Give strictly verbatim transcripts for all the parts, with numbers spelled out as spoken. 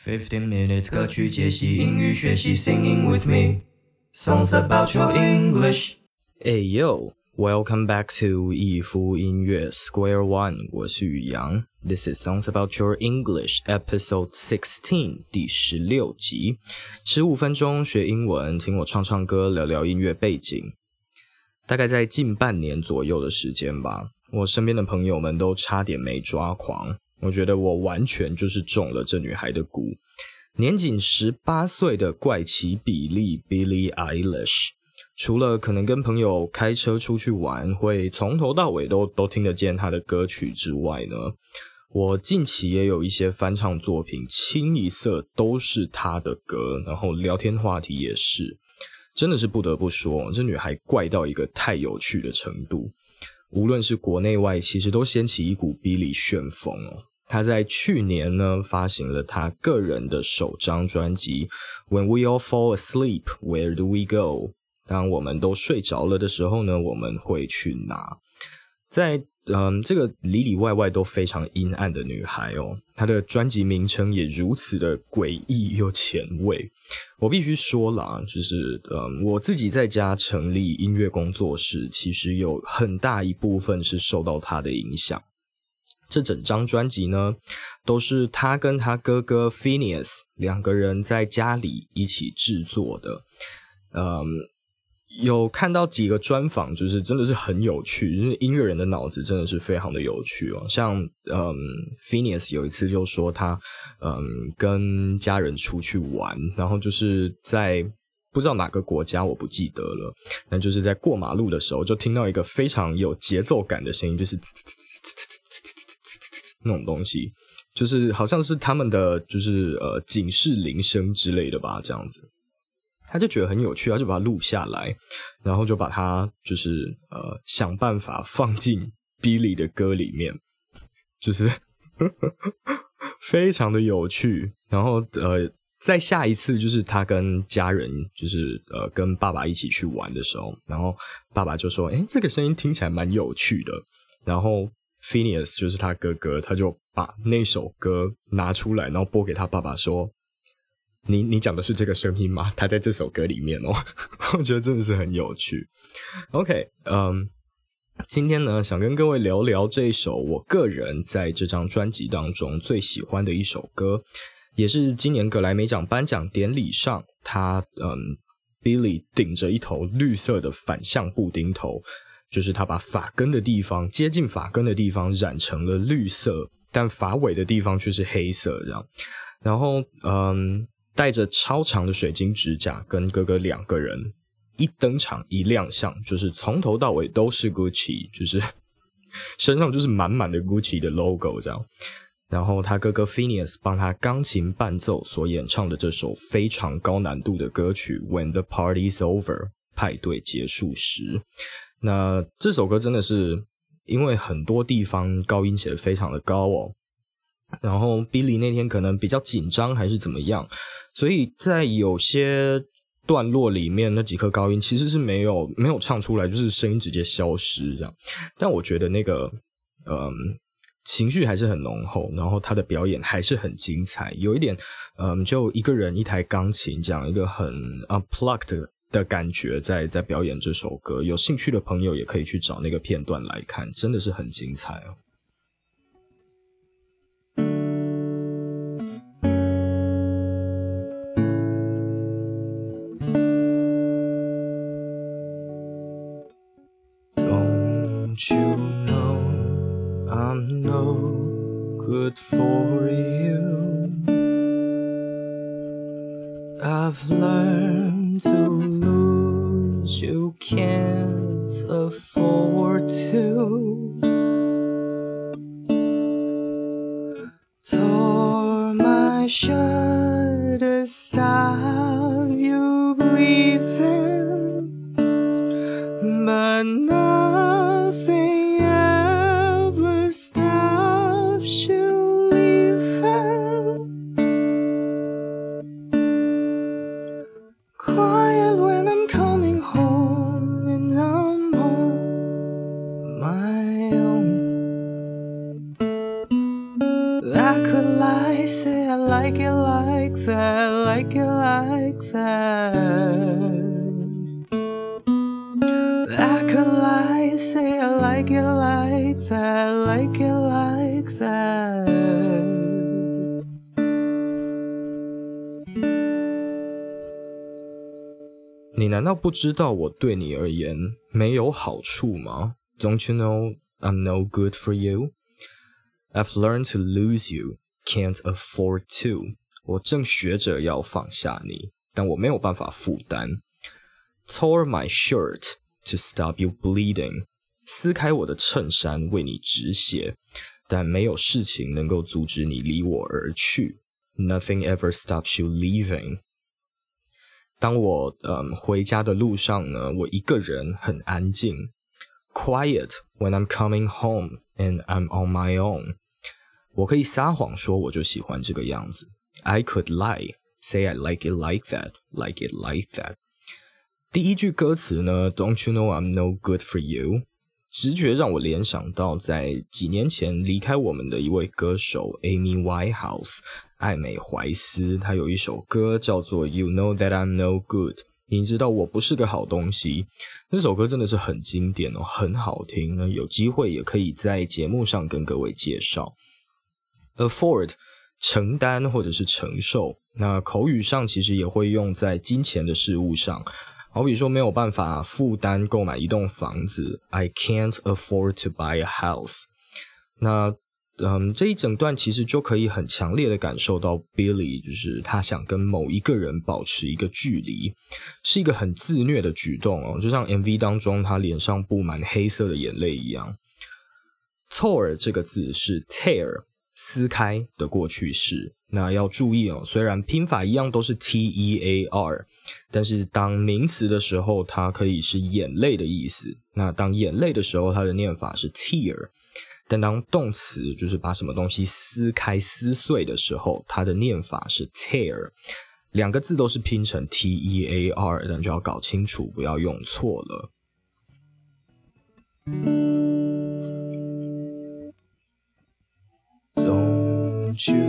Fifteen minutes 歌曲解析英语学习 Singing with me Songs about your English Hey yo, welcome back to 一夫音乐 Square One， 我是宇阳。This is Songs about your English episode sixteen 第十六集，十五分钟学英文，听我唱唱歌，聊聊音乐背景。大概在近半年左右的时间吧，我身边的朋友们都差点没抓狂。我觉得我完全就是中了这女孩的蛊。年仅十八岁的怪奇比利 Billie Eilish， 除了可能跟朋友开车出去玩会从头到尾都都听得见她的歌曲之外呢，我近期也有一些翻唱作品清一色都是她的歌，然后聊天话题也是，真的是不得不说，这女孩怪到一个太有趣的程度。无论是国内外，其实都掀起一股 Billie 旋风哦。她在去年呢发行了她个人的首张专辑 When We All Fall Asleep, Where Do We Go？ 当我们都睡着了的时候呢，我们会去哪？在嗯这个里里外外都非常阴暗的女孩哦，她的专辑名称也如此的诡异又前卫。我必须说啦，就是嗯我自己在家成立音乐工作室，其实有很大一部分是受到她的影响。这整张专辑呢，都是他跟他哥哥 Phineas 两个人在家里一起制作的。嗯，有看到几个专访，就是真的是很有趣，就是音乐人的脑子真的是非常的有趣哦。像嗯 Phineas 有一次就说他嗯跟家人出去玩，然后就是在不知道哪个国家我不记得了，但就是在过马路的时候就听到一个非常有节奏感的声音，就是那种东西，就是好像是他们的就是呃警示铃声之类的吧，这样子。他就觉得很有趣，他就把它录下来，然后就把它就是呃想办法放进 Billie 的歌里面，就是非常的有趣。然后呃在下一次就是他跟家人就是呃跟爸爸一起去玩的时候，然后爸爸就说：“诶，这个声音听起来蛮有趣的。”然后 Phineas 就是他哥哥，他就把那首歌拿出来，然后播给他爸爸说：“你你讲的是这个声音吗？他在这首歌里面哦。”我觉得真的是很有趣。OK， 嗯，今天呢想跟各位聊聊这一首我个人在这张专辑当中最喜欢的一首歌，也是今年格莱美奖颁奖典礼上，他嗯 Billie 顶着一头绿色的反向布丁头。就是他把发根的地方接近发根的地方染成了绿色，但发尾的地方却是黑色这样。然后嗯，带着超长的水晶指甲跟哥哥两个人一登场一亮相，就是从头到尾都是 Gucci， 就是身上就是满满的 Gucci 的 logo 这样。然后他哥哥 Phineas 帮他钢琴伴奏所演唱的这首非常高难度的歌曲 When the Party's Over， 派对结束时。那这首歌真的是因为很多地方高音写得非常的高哦，然后 Billie 那天可能比较紧张还是怎么样，所以在有些段落里面那几颗高音其实是没有没有唱出来，就是声音直接消失这样。但我觉得那个嗯情绪还是很浓厚，然后他的表演还是很精彩，有一点嗯就一个人一台钢琴这样一个很 unplugged的感觉在在表演这首歌，有兴趣的朋友也可以去找那个片段来看，真的是很精彩哦。Don't you know I'm no good for you? I've learned to lose, you can't afford to. Tore my shirt to stop you breathing, but nothing ever stops you leaving. Quiet when I'm coming home and I'm on my own. I could lie, say I like it like like that, like it like that. I could lie, say I like it like that, like it like that. 你难道不知道我对你而言没有好处吗？ Don't you know I'm no good for you? I've learned to lose you, can't afford to. 我正学着要放下你，但我没有办法负担。Tore my shirt to stop you bleeding. 撕开我的衬衫为你止血，但没有事情能够阻止你离我而去。Nothing ever stops you leaving. 当我、嗯、回家的路上呢，我一个人很安静。Quiet when I'm coming home and I'm on my own. 我可以撒谎说我就喜欢这个样子。I could lie, say I like it like that, like it like that. 第一句歌词呢 Don't you know I'm no good for you? 直觉让我联想到在几年前离开我们的一位歌手 Amy Winehouse 艾美怀斯，她有一首歌叫做 You know that I'm no good， 你知道我不是个好东西。那首歌真的是很经典哦，很好听，有机会也可以在节目上跟各位介绍。 Afford 承担或者是承受，那口语上其实也会用在金钱的事物上，好比说没有办法负担购买一栋房子 I can't afford to buy a house。 那嗯，这一整段其实就可以很强烈的感受到 Billy 就是他想跟某一个人保持一个距离，是一个很自虐的举动哦，就像 M V 当中他脸上布满黑色的眼泪一样。 Tore 这个字是 tear 撕开的过去式，那要注意哦，虽然拼法一样都是 T E A R， 但是当名词的时候它可以是眼泪的意思，那当眼泪的时候它的念法是 tear，但当动词就是把什么东西撕开撕碎的时候，它的念法是 tear， 两个字都是拼成 T E A R， 但就要搞清楚不要用错了。Don't you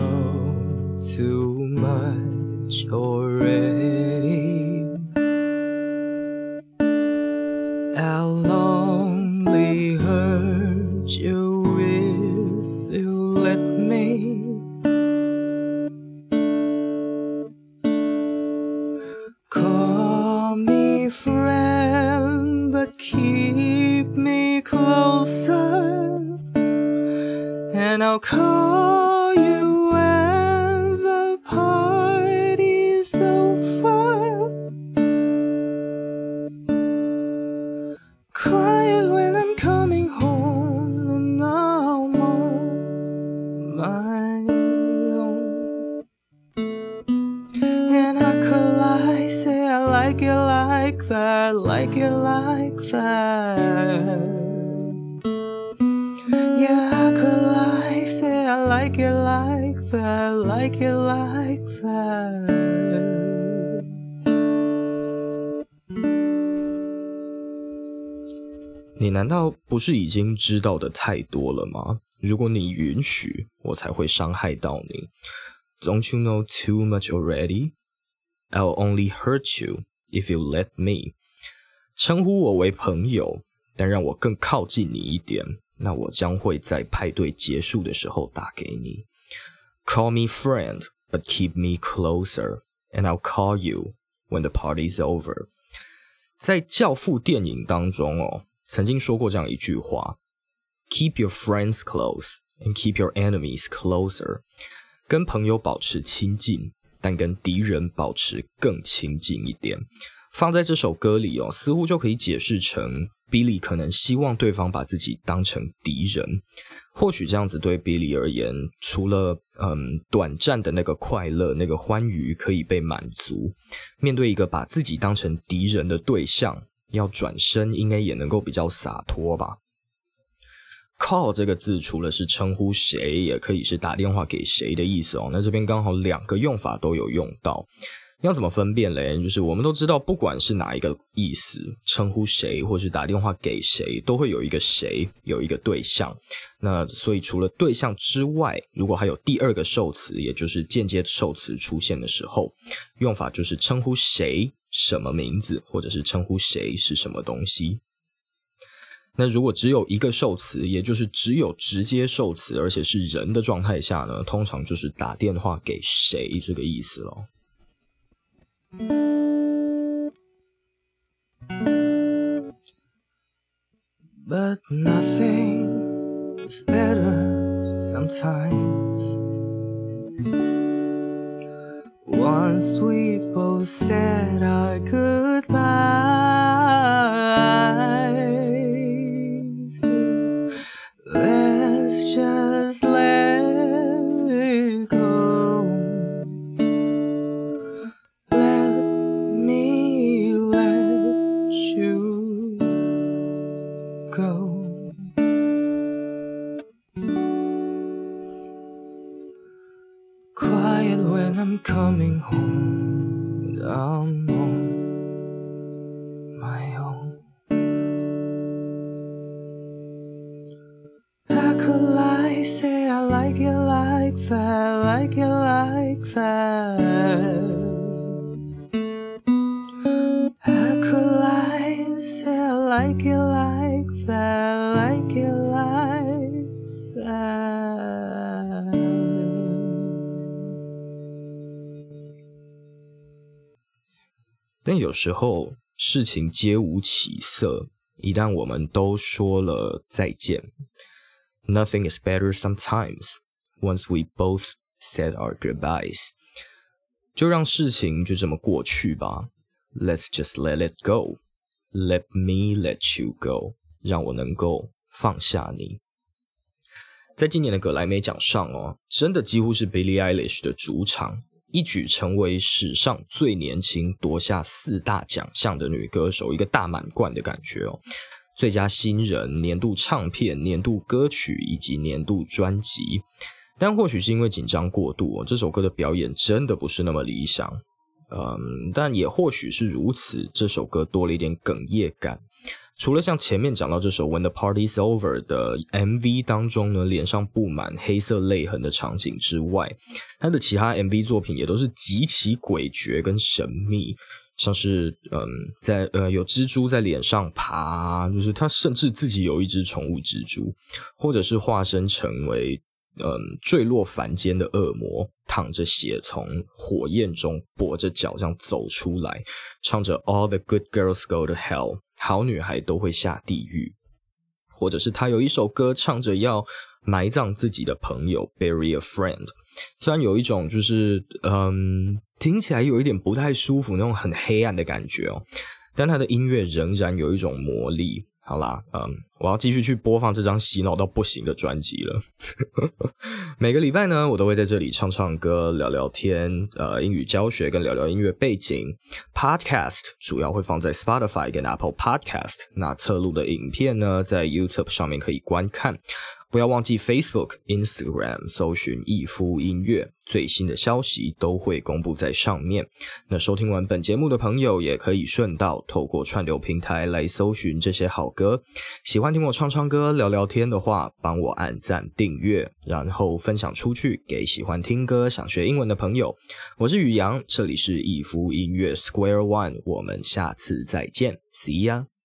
know too much already? I'll only hurt you if you let me. Call me friend, but keep me closer. And I'll call you when the party's over. Quiet when I'm coming home and I'm on my own. And I could lie, say I like it like that, like it like that.Yeah, I could lie, say I like it like that, like it like that. 你难道不是已经知道的太多了吗？如果你允许，我才会伤害到你。Don't you know too much already? I'll only hurt you if you let me. 称呼我为朋友，但让我更靠近你一点。那我将会在派对结束的时候打给你。Call me friend, but keep me closer, and I'll call you when the party's over. 在教父电影当中哦，曾经说过这样一句话 Keep your friends close, and keep your enemies closer. 跟朋友保持亲近，但跟敌人保持更亲近一点。放在这首歌里哦，似乎就可以解释成Billy 可能希望对方把自己当成敌人，或许这样子对 Billy 而言，除了嗯短暂的那个快乐、那个欢愉可以被满足，面对一个把自己当成敌人的对象，要转身应该也能够比较洒脱吧。Call 这个字除了是称呼谁，也可以是打电话给谁的意思哦。那这边刚好两个用法都有用到。 要怎么分辨嘞？就是我们都知道，不管是哪一个意思，称呼谁或是打电话给谁，都会有一个谁，有一个对象。那所以除了对象之外，如果还有第二个受词，也就是间接受词出现的时候，用法就是称呼谁什么名字，或者是称呼谁是什么东西。那如果只有一个受词，也就是只有直接受词，而且是人的状态下呢，通常就是打电话给谁这个意思咯。 But nothing is better sometimes. Once we both said our goodbyes, let's just let it go. Let me let you go. Quiet when I'm coming home, and I'm on my own. How could I say I like it like that, like it like that? How could I say I like it like that, like it like that? 但有时候事情皆无起色，一旦我们都说了再见 Nothing is better sometimes Once we both said our goodbyes 就让事情就这么过去吧 Let's just let it go Let me let you go 让我能够放下你。在今年的格莱美奖上哦，真的几乎是 Billie Eilish 的主场，一举成为史上最年轻夺下四大奖项的女歌手，一个大满贯的感觉哦。最佳新人、年度唱片、年度歌曲以及年度专辑。但或许是因为紧张过度哦，这首歌的表演真的不是那么理想。嗯，但也或许是如此，这首歌多了一点哽咽感。除了像前面讲到这首 When the Party's Over 的 M V 当中呢，脸上布满黑色泪痕的场景之外，他的其他 M V 作品也都是极其诡谲跟神秘，像是嗯，在呃有蜘蛛在脸上爬，就是他甚至自己有一只宠物蜘蛛，或者是化身成为嗯坠落凡间的恶魔，淌着血从火焰中跛着脚这样走出来，唱着 All the good girls go to hell， 好女孩都会下地狱。或者是他有一首歌唱着要埋葬自己的朋友 bury a friend， 虽然有一种就是嗯听起来有一点不太舒服那种很黑暗的感觉哦，但他的音乐仍然有一种魔力。好啦，嗯，我要继续去播放这张洗脑到不行的专辑了。每个礼拜呢，我都会在这里唱唱歌、聊聊天，呃，英语教学跟聊聊音乐背景。Podcast 主要会放在 Spotify 跟 Apple Podcast， 那侧录的影片呢，在 YouTube 上面可以观看。不要忘记 Facebook、Instagram 搜寻逸夫音乐，最新的消息都会公布在上面。那收听完本节目的朋友也可以顺道透过串流平台来搜寻这些好歌。喜欢听我唱唱歌、聊聊天的话，帮我按赞订阅，然后分享出去给喜欢听歌、想学英文的朋友。我是宇阳，这里是逸夫音乐 Square One， 我们下次再见 ，See ya。